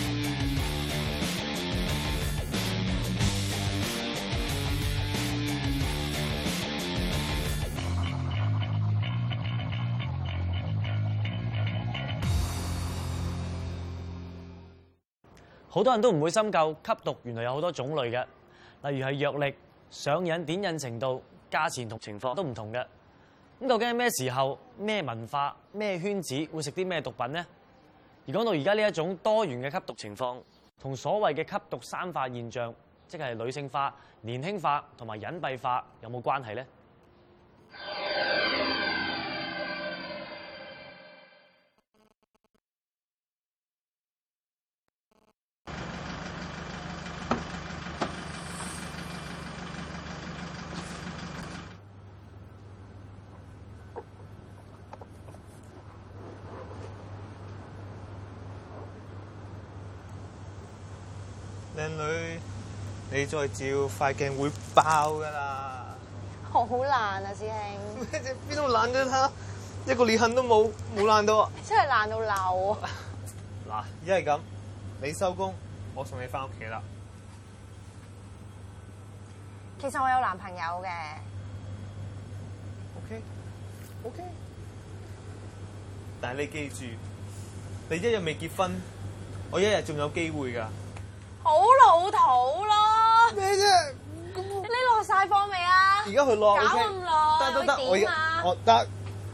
好多人都唔會深究吸毒原來有好多種類嘅，例如係藥力、上癮、點癮程度、價錢同情況都唔同嘅。咁究竟係咩時候、咩文化、咩圈子會食啲咩毒品呢？而講到而家呢一種多元嘅吸毒情況，同所謂嘅吸毒三化現象，即係女性化、年輕化同埋隱蔽化，有冇關係呢？ 靚女，你再照塊鏡會爆噶啦！ 好爛啊，師兄！ 咩啫？邊度爛咗他？一個裂痕都冇爛到啊！ 真係爛到漏啊！ 嗱，一係咁，你收工，我送你翻屋企啦。 其實我有男朋友嘅。 OK。但係你記住，你一日未結婚，我一日仲有機會㗎。 好老土咯！ 咩啫？ 你落晒課未啊？ 而家去落， 搞咁耐， 得，我點啊？ 我得。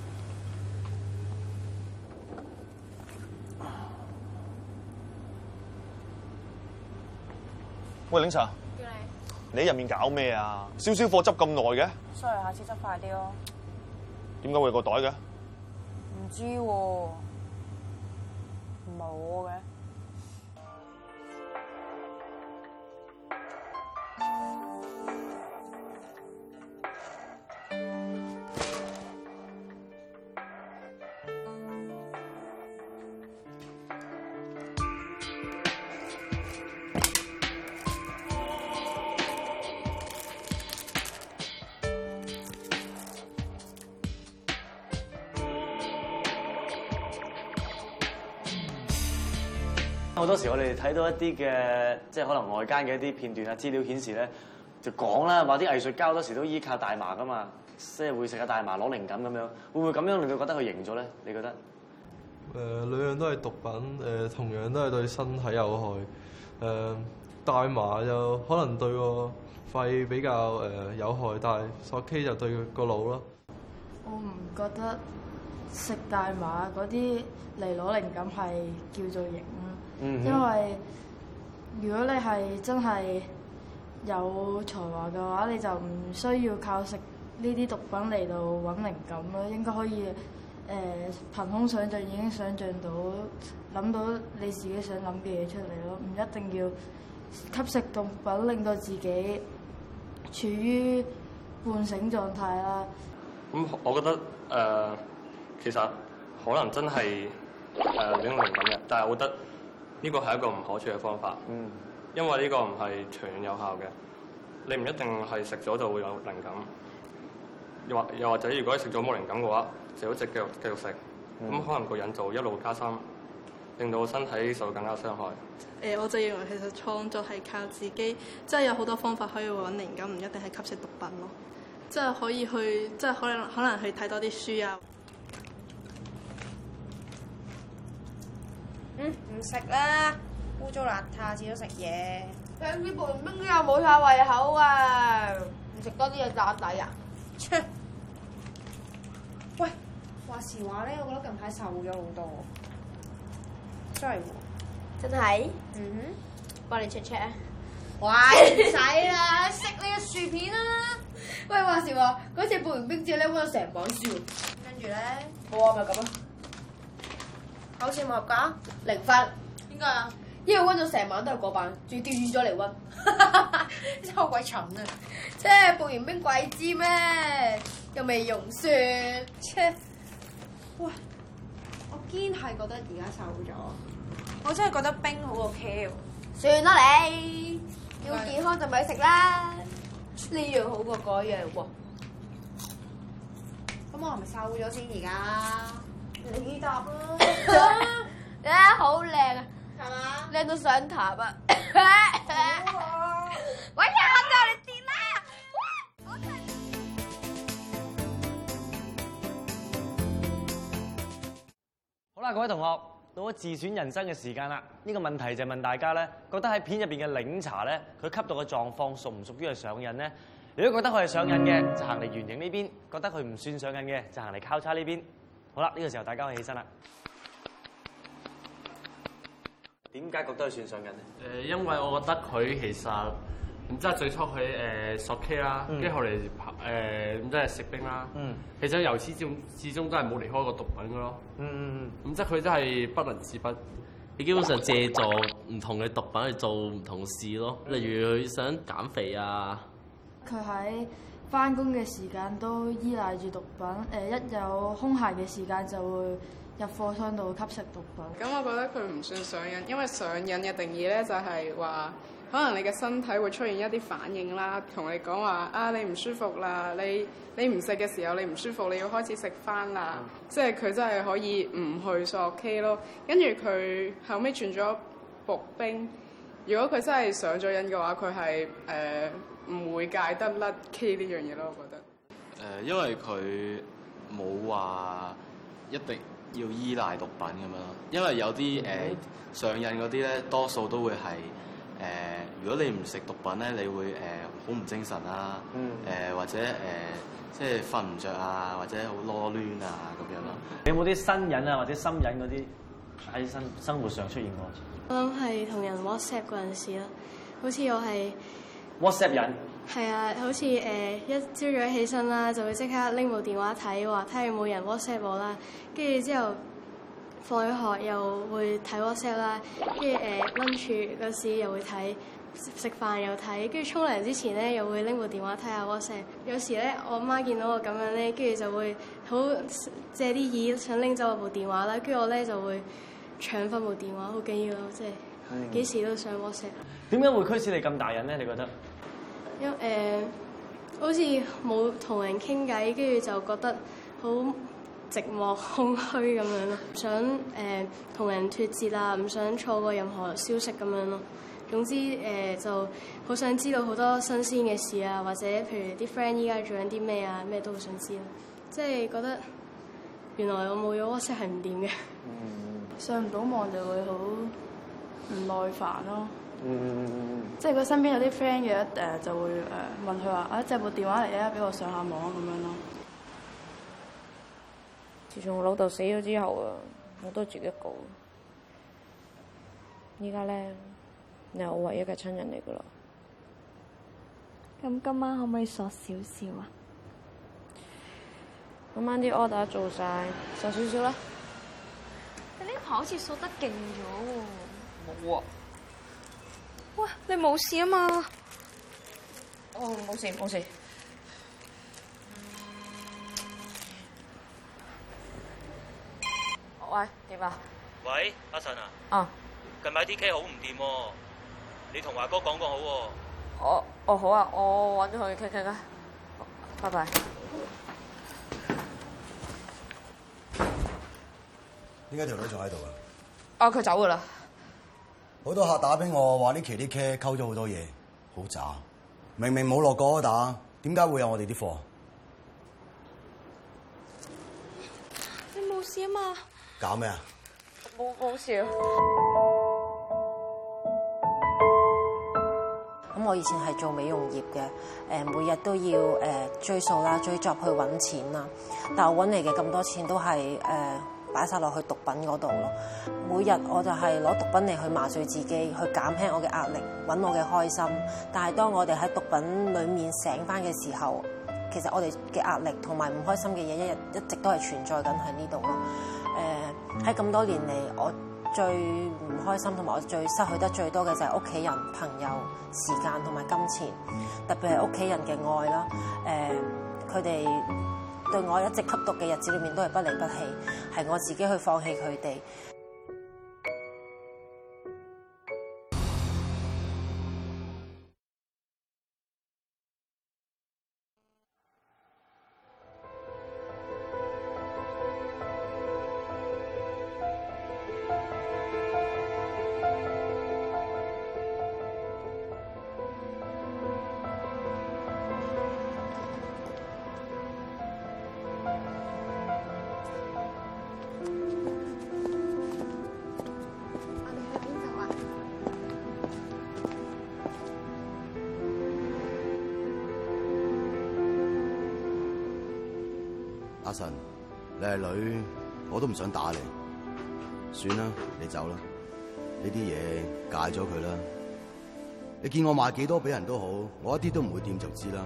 喂，領 Sir， 叫你喺入面搞咩啊？燒貨執咁耐嘅？ sorry，下次執快啲咯。 點解會有個袋嘅？ 唔知喎，冇嘅。 好多時我哋睇到一啲嘅，即係可能外間嘅一啲片段啊資料顯示咧，就講啦，話啲藝術家好多時都依靠大麻噶嘛，即係會食下大麻攞靈感咁樣，會唔會咁樣令到覺得佢型咗咧？你覺得？ 兩樣都係毒品，同樣都係對身體有害。大麻就可能對個肺比較有害，但係索 K 就對個腦咯。 我唔覺得食大麻嗰啲嚟攞靈感係叫做型啦。因為如果你係真係有才華嘅話，你就唔需要靠食呢啲毒品嚟到揾靈感咯。應該可以憑空想像已經想像到諗到你自己想諗嘅嘢出嚟咯，唔一定要吸食毒品令到自己處於半醒狀態啦。 我覺得其實可能真係領靈感嘅，但係我覺得呢個係一個唔可取嘅方法。因為呢個唔係長遠有效嘅，你唔一定係食咗就會有靈感。又或者如果你食咗冇靈感嘅話，就一直繼續食，咁可能個人就一路加深，令到身體受更加傷害。 我就認為其實創作係靠自己，即係有好多方法可以揾靈感，唔一定係吸食毒品咯。即係可以去，即係可能去睇多啲書啊。 唔食啦，污糟邋遢，至多食嘢。 聽啲半冰又冇晒胃口啊！唔食多啲嘢打底啊！ 切！喂，話時話咧，我覺得近排瘦咗好多。sorry 喎。 真係？ 幫你 check check 啊。 喂，唔使啦，食你嘅薯片啦。喂，話時話嗰次報完冰之後咧，溫咗成本書。 跟住咧， 冇啊，咪咁咯。 考試冇合格 0分。 點解啊？ 因為溫咗成晚都係嗰版，仲要調轉咗嚟溫。 真係好鬼蠢啊！ 即係報完冰鬼知咩？又未溶雪。 切！喂，我堅係覺得而家瘦咗。我真係覺得冰好過 K。 算啦你，要健康就咪食啦。呢樣好過嗰樣喎。 咁我係咪瘦咗先而家？ 你答啦。你睇好靚啊！ 係嘛？ 你靚到上塔啊！喂呀，我哋跌啦！ 好啦，各位同學，到咗自選人生嘅時間啦。呢個問題就問大家咧，覺得喺片入邊嘅檸茶咧，佢吸毒嘅狀況屬唔屬於係上癮咧？如果覺得佢係上癮嘅，就行嚟圓形呢邊；覺得佢唔算上癮嘅，就行嚟交叉呢邊。好啦，呢個時候大家可以起身啦。點解覺得佢算上癮咧？ 因為我覺得佢其實咁即係最初佢索 K 啦，跟住後嚟咁即係食冰啦。其實由始至終都係冇離開過毒品嘅咯。咁即係佢真係不能自拔。 你基本上借助唔同嘅毒品去做唔同事咯，例如佢想減肥啊。 佢喺翻工嘅時間都依賴住毒品，一有空閒嘅時間就會入貨倉度吸食毒品。 咁我覺得佢唔算上癮，因為上癮嘅定義咧就係話，可能你嘅身體會出現一啲反應啦，同你講話啊你唔舒服啦，你唔食嘅時候你唔舒服，你要開始食翻啦，即係佢真係可以唔去索 K 咯。跟住佢後尾轉咗步冰，如果佢真係上咗癮嘅話，佢係唔會戒得甩 K 呢樣嘢咯，我覺得。 因為佢冇話一定要依賴毒品咁樣咯，因為有啲上癮嗰啲咧，多數都會係如果你唔食毒品咧，你會好唔精神啦，或者即係瞓唔着啊，或者好囉攣啊咁樣咯。 你有冇啲身癮啊或者心癮嗰啲喺生活上出現過？ 我諗係同人 WhatsApp 嗰陣時啦，好似我係 WhatsApp 癮。 係啊，好似一朝早起身啦，就會即刻拎部電話睇，話睇下有冇人 WhatsApp 我啦。跟住之後放咗學又會睇 WhatsApp 啦，跟住lunch 嗰時又會睇，食飯又睇，跟住沖涼之前咧又會拎部電話睇下 WhatsApp。有時咧我媽見到我咁樣咧，跟住就會好借啲意想拎走我部電話啦，跟住我咧就會搶翻部電話，好緊要咯，即係幾時都上 WhatsApp。 點解會驅使你咁大癮咧？你覺得？ 因好似冇同人傾偈，跟住就覺得好寂寞空虛咁樣咯，想同人脫節啊，唔想錯過任何消息咁樣咯。總之就好想知道好多新鮮嘅事啊，或者譬如啲 friend 依家做緊啲咩啊，咩都好想知咯。即係覺得原來我冇咗 WhatsApp 係唔掂嘅。 上唔到網就會好唔耐煩咯。即係佢身邊有啲 friend 嘅就會問佢話：啊，借部電話嚟啊，俾我上下網咁樣咯。 自從我老豆死咗之後啊，我都自己一個。依家咧，你係我唯一嘅親人嚟噶啦。 咁今晚可唔可以索少少啊？ 今晚啲 order 做晒，索少少啦。 你呢排好似索得勁咗喎。 冇啊。 喂，你冇事啊嘛？ 哦，冇事冇事。喂，點啊？ 喂，阿神啊。 啊。 近排啲 K 好唔掂喎，你同華哥講好喎。 哦好啊，我揾咗佢傾傾啊。拜拜。 點解條女仲喺度啊？ 啊，佢走㗎啦。 好多客打俾我話呢期啲 K 溝咗好多嘢，好渣。明明冇落過打，點解會有我哋啲貨？ 你冇事啊嘛？ 搞咩啊？ 冇事啊。 咁我以前係做美容業嘅，每日都要追數啦、追 job 去揾錢啦。但我揾嚟嘅咁多錢都係擺晒落去毒品嗰度咯。每日我就係攞毒品嚟去麻醉自己，去減輕我嘅壓力，揾我嘅開心。但係當我哋喺毒品裡面醒翻嘅時候，其實我哋嘅壓力同埋唔開心嘅嘢一直都係存在緊喺呢度咯。喺咁多年嚟，我最唔開心同埋我最失去得最多嘅就係屋企人、朋友、時間同埋金錢，特別係屋企人嘅愛啦。佢哋對我一直吸毒嘅日子裏面都係不離不棄，係我自己去放棄佢哋。 阿神，你係女，我都唔想打你。算啦，你走啦。呢啲嘢戒咗佢啦。你見我賣幾多俾人都好，我一啲都唔會掂就知啦。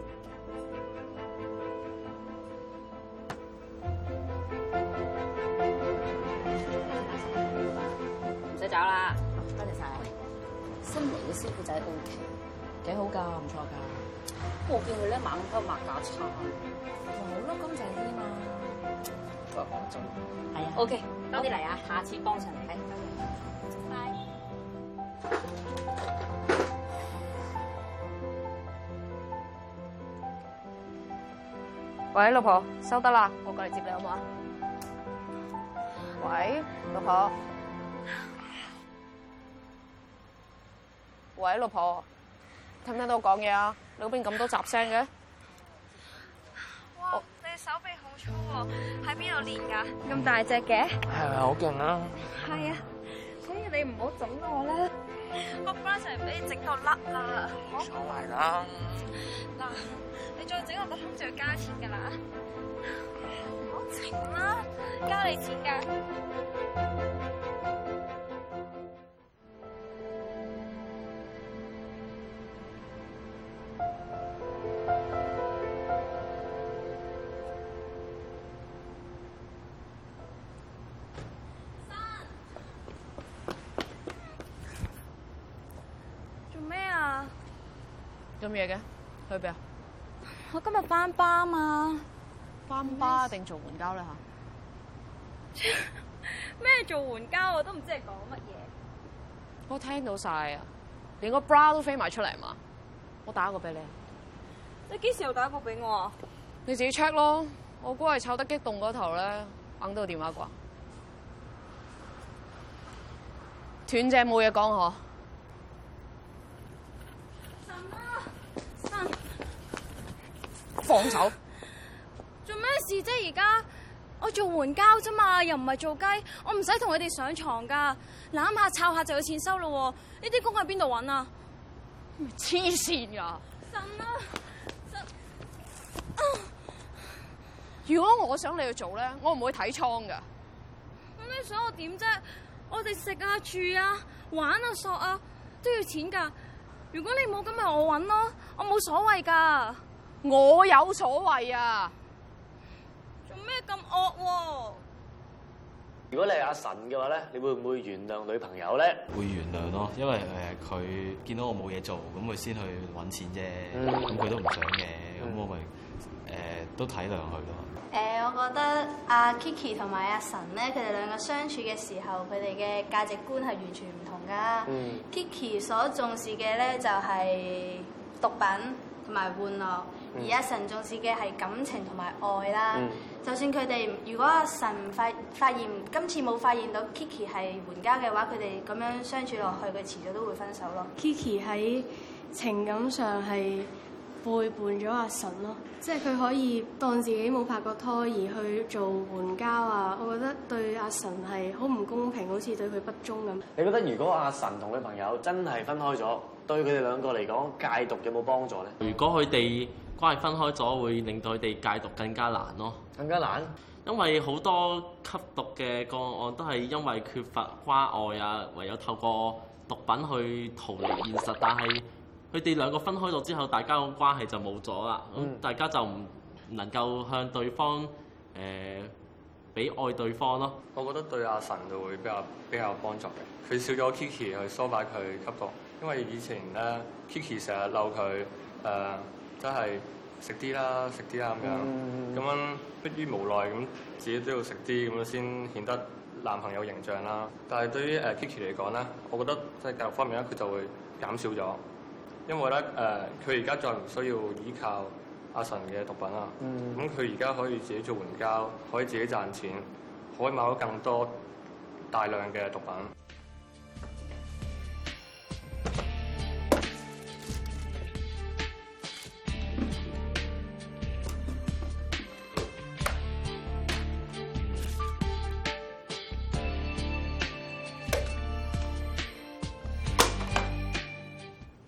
唔使找啦，多謝晒。新嚟嘅師傅仔 OK， 幾好㗎，唔錯㗎。我見佢咧猛鳩抹架撐，好咯，乾淨啲嘛。係啊 ，OK， 多啲嚟啊，下次幫襯你。拜。喂，老婆，收得啦，我過嚟接你好唔好啊？喂，老婆。喂，老婆，聽唔聽到我講嘢啊？你嗰邊咁多雜聲嘅？ 哇，你手臂好粗喎，喺邊度練㗎？咁大隻嘅？ 係咪好勁啊？ 係啊，所以你唔好整我啦，個 bra 就係俾你整到甩啦。 冇所謂啦。 嗱，你再整我個胸就要加錢㗎啦。唔好整啦，加你錢㗎。 做咩嘅？去邊啊？ 我今日翻巴嘛。 翻巴定做援交咧嚇？ 咩做援交我都唔知你講乜嘢。 我聽到晒啊，連個 bra 都飛埋出嚟嘛。我打個俾你。 你幾時又打個俾我啊？ 你自己 check 咯。我估係湊得激動嗰頭咧，硬到個電話啩。斷正冇嘢講嗬。放手！ 做咩事啫？而家我做援交啫嘛，又唔係做雞，我唔使同佢哋上床噶，攬下摷下就有錢收咯。呢啲工喺邊度搵啊？ 黐線噶！ 神啊！ 如果我想你去做咧，我唔會睇倉噶。 咁你想我點啫？我哋食啊、住啊、玩啊、索啊都要錢噶。如果你冇咁咪我搵咯，我冇所謂噶。 我有所謂啊！ 做咩咁惡喎？ 如果你係阿神嘅話咧，你會唔會原諒女朋友咧？ 會原諒咯，因為佢見到我冇嘢做，咁佢先去揾錢啫。咁佢都唔想嘅，咁我咪都體諒佢咯。 我覺得阿 Kiki 同埋阿神咧，佢哋兩個相處嘅時候，佢哋嘅價值觀係完全唔同噶。Kiki 所重視嘅咧就係毒品同埋玩樂，而阿神重視嘅係感情同埋愛啦。就算佢哋如果阿神發現今次冇發現到 Kiki 係援交嘅話，佢哋咁樣相處落去，佢遲早都會分手咯。 Kiki 喺情感上係背叛咗阿神咯，即係佢可以當自己冇拍過拖而去做援交啊！我覺得對阿神係好唔公平，好似對佢不忠咁。 你覺得如果阿神同女朋友真係分開咗，對佢哋兩個嚟講戒毒有冇幫助咧？ 如果佢哋關係分開咗，會令到佢哋戒毒更加難咯。 更加難？ 因為好多吸毒嘅個案都係因為缺乏關愛啊，唯有透過毒品去逃離現實，但係佢哋兩個分開咗之後，大家個關係就冇咗啦。咁大家就唔能夠向對方俾愛對方咯。 我覺得對阿神就會比較有幫助嘅。佢少咗 Kiki 去疏擺佢吸毒，因為以前咧 Kiki 成日鬧佢真係食啲啦咁樣，咁樣迫於無奈咁自己都要食啲咁樣先顯得男朋友形象啦。但係對於Kiki 嚟講咧，我覺得即係教育方面咧，佢就會減少咗。因為咧，佢而家再唔需要依靠阿神嘅毒品啦。咁佢而家可以自己做援交，可以自己賺錢，可以買到更多大量嘅毒品。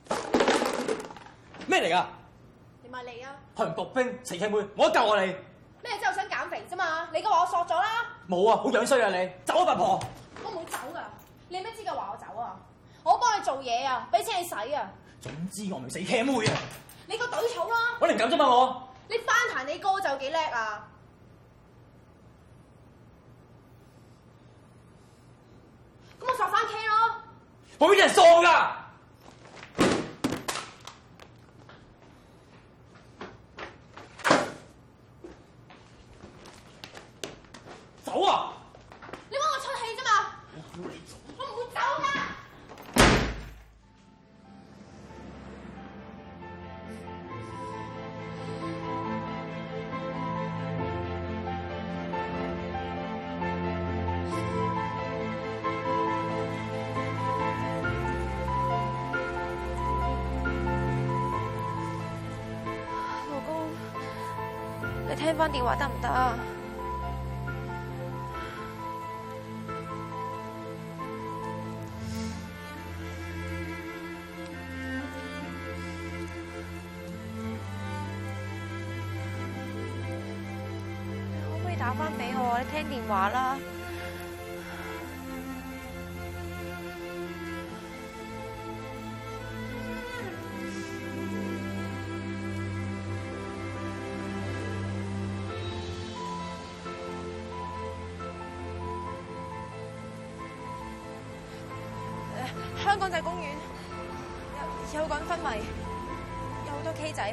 咩嚟㗎？ 你咪嚟啊！ 韓國兵死契妹，我救我你！ 咩之後想減肥啫嘛？你嘅話我索咗啦。 冇啊，好樣衰啊你！走啊，八婆！ 我冇走噶，你有咩資格話我走啊？我幫你做嘢啊，俾錢你使啊。 總之我唔死茄妹啊！ 你個隊草啦！ 我靈感啫嘛我。 你翻彈你歌就幾叻啊！咁我索翻 K 咯。 我啲人傻㗎！走啊！ 你幫我出氣啫嘛！我唔會走㗎。 老公，你聽翻電話得唔得啊？可唔可以打翻俾我？你聽電話啦。香港仔公園有個人昏迷，有好多 K 仔。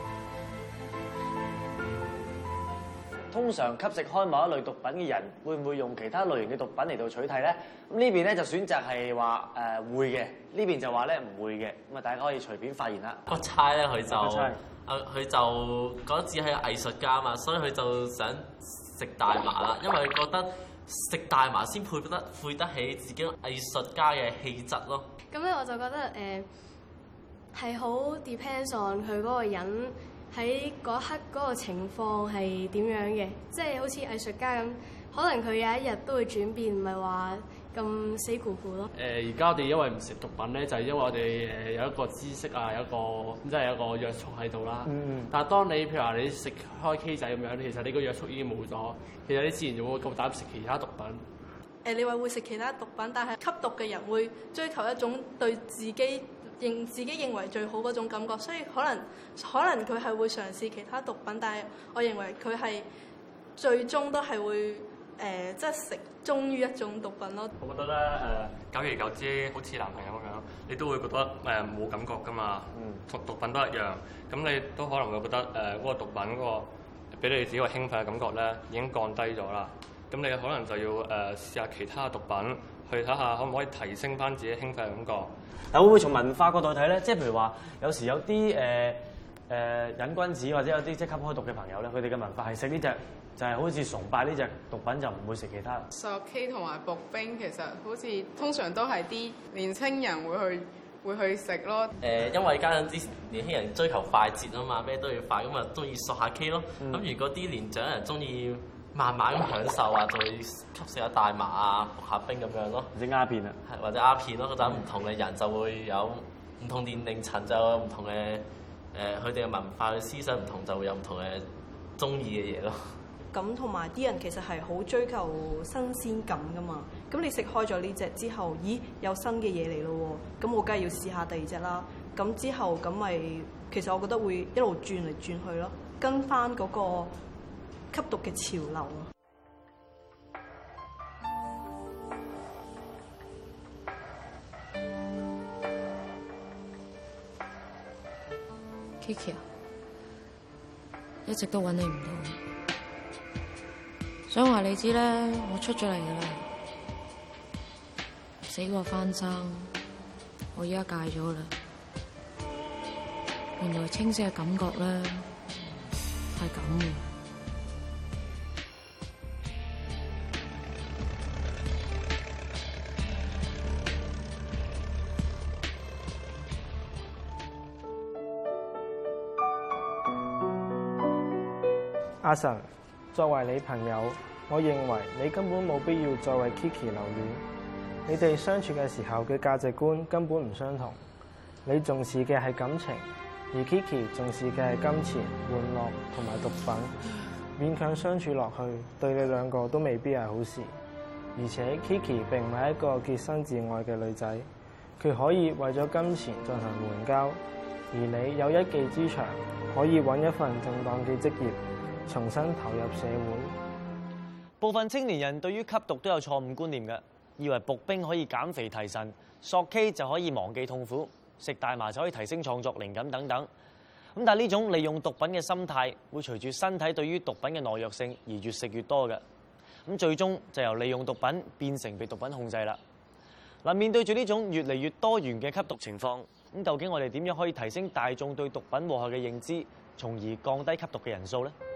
通常吸食開某一類毒品嘅人，會唔會用其他類型嘅毒品嚟到取替咧？咁呢邊咧就選擇係話會嘅，呢邊就話咧唔會嘅。咁啊，大家可以隨便發言啦。 個差咧佢就覺得自己係個藝術家嘛，所以佢就想食大麻啦，因為佢覺得食大麻先配得起自己藝術家嘅氣質咯。 咁咧我就覺得係好 depends on 佢嗰個人喺嗰刻嗰個情況係點樣嘅，即係好似藝術家咁，可能佢有一日都會轉變，唔係話咁死咕咕咯。 而家我哋因為唔食毒品咧，就係因為我哋有一個知識啊，有一個即係有一個約束喺度啦。但係當你譬如話你食開 K 仔咁樣，其實你個約束已經冇咗，其實你自然就會夠膽食其他毒品。 你話會食其他毒品，但係吸毒嘅人會追求一種對自己認為最好嗰種感覺，所以可能佢係會嘗試其他毒品，但係我認為佢係最終都係會即係食忠於一種毒品咯。 我覺得咧久而久之，好似男朋友咁樣，你都會覺得冇感覺㗎嘛。同毒品都一樣，咁你都可能會覺得嗰個毒品嗰個俾你自己個興奮嘅感覺咧已經降低咗啦。咁你可能就要試下其他毒品，去睇下可唔可以提升翻自己興奮嘅感覺。 但會唔會從文化角度睇咧？即係譬如話，有時有啲癮君子或者有啲即係吸開毒嘅朋友咧，佢哋嘅文化係食呢隻，就係好似崇拜呢隻毒品，就唔會食其他。 索 K 同埋步冰其實好似通常都係啲年青人會去食咯。 因為加上啲年輕人追求快捷啊嘛，咩都要快，咁啊中意索下 K 咯。咁如果啲年長人中意慢慢咁享受啊，就會吸食下大麻啊、服下冰咁樣咯， 或者鴉片啊， 或者鴉片咯。咁唔同嘅人就會有唔同年齡層，就有唔同嘅佢哋嘅文化嘅思想唔同，就會有唔同嘅中意嘅嘢咯。 咁同埋啲人其實係好追求新鮮感噶嘛。咁你食開咗呢隻之後，咦有新嘅嘢嚟咯喎，咁我梗係要試下第二隻啦。咁之後咁咪其實我覺得會一路轉嚟轉去咯，跟翻嗰個吸毒嘅潮流啊。 Kiki 啊，一直都揾你唔到，想話你知咧，我出咗嚟噶啦，死過翻生，我依家戒咗啦。原來清晰嘅感覺咧係咁嘅。 阿神，作為你朋友，我認為你根本冇必要再為 Kiki 留戀。你哋相處嘅時候嘅價值觀根本唔相同。你重視嘅係感情，而 Kiki 重視嘅係金錢、玩樂同埋毒品。 勉強相處落去，對你兩個都未必係好事。而且 Kiki 並唔係一個潔身自愛嘅女仔，佢可以為咗金錢進行援交，而你有一技之長，可以揾一份正當嘅職業，重新投入社會。 部分青年人對於吸毒都有錯誤觀念嘅，以為步冰可以減肥提神，索 K 就可以忘記痛苦，食大麻就可以提升創作靈感等等。咁但係呢種利用毒品嘅心態，會隨住身體對於毒品嘅耐藥性而越食越多嘅。咁最終就由利用毒品變成被毒品控制啦。嗱，面對住呢種越嚟越多元嘅吸毒情況，咁究竟我哋點樣可以提升大眾對毒品禍害嘅認知，從而降低吸毒嘅人數呢？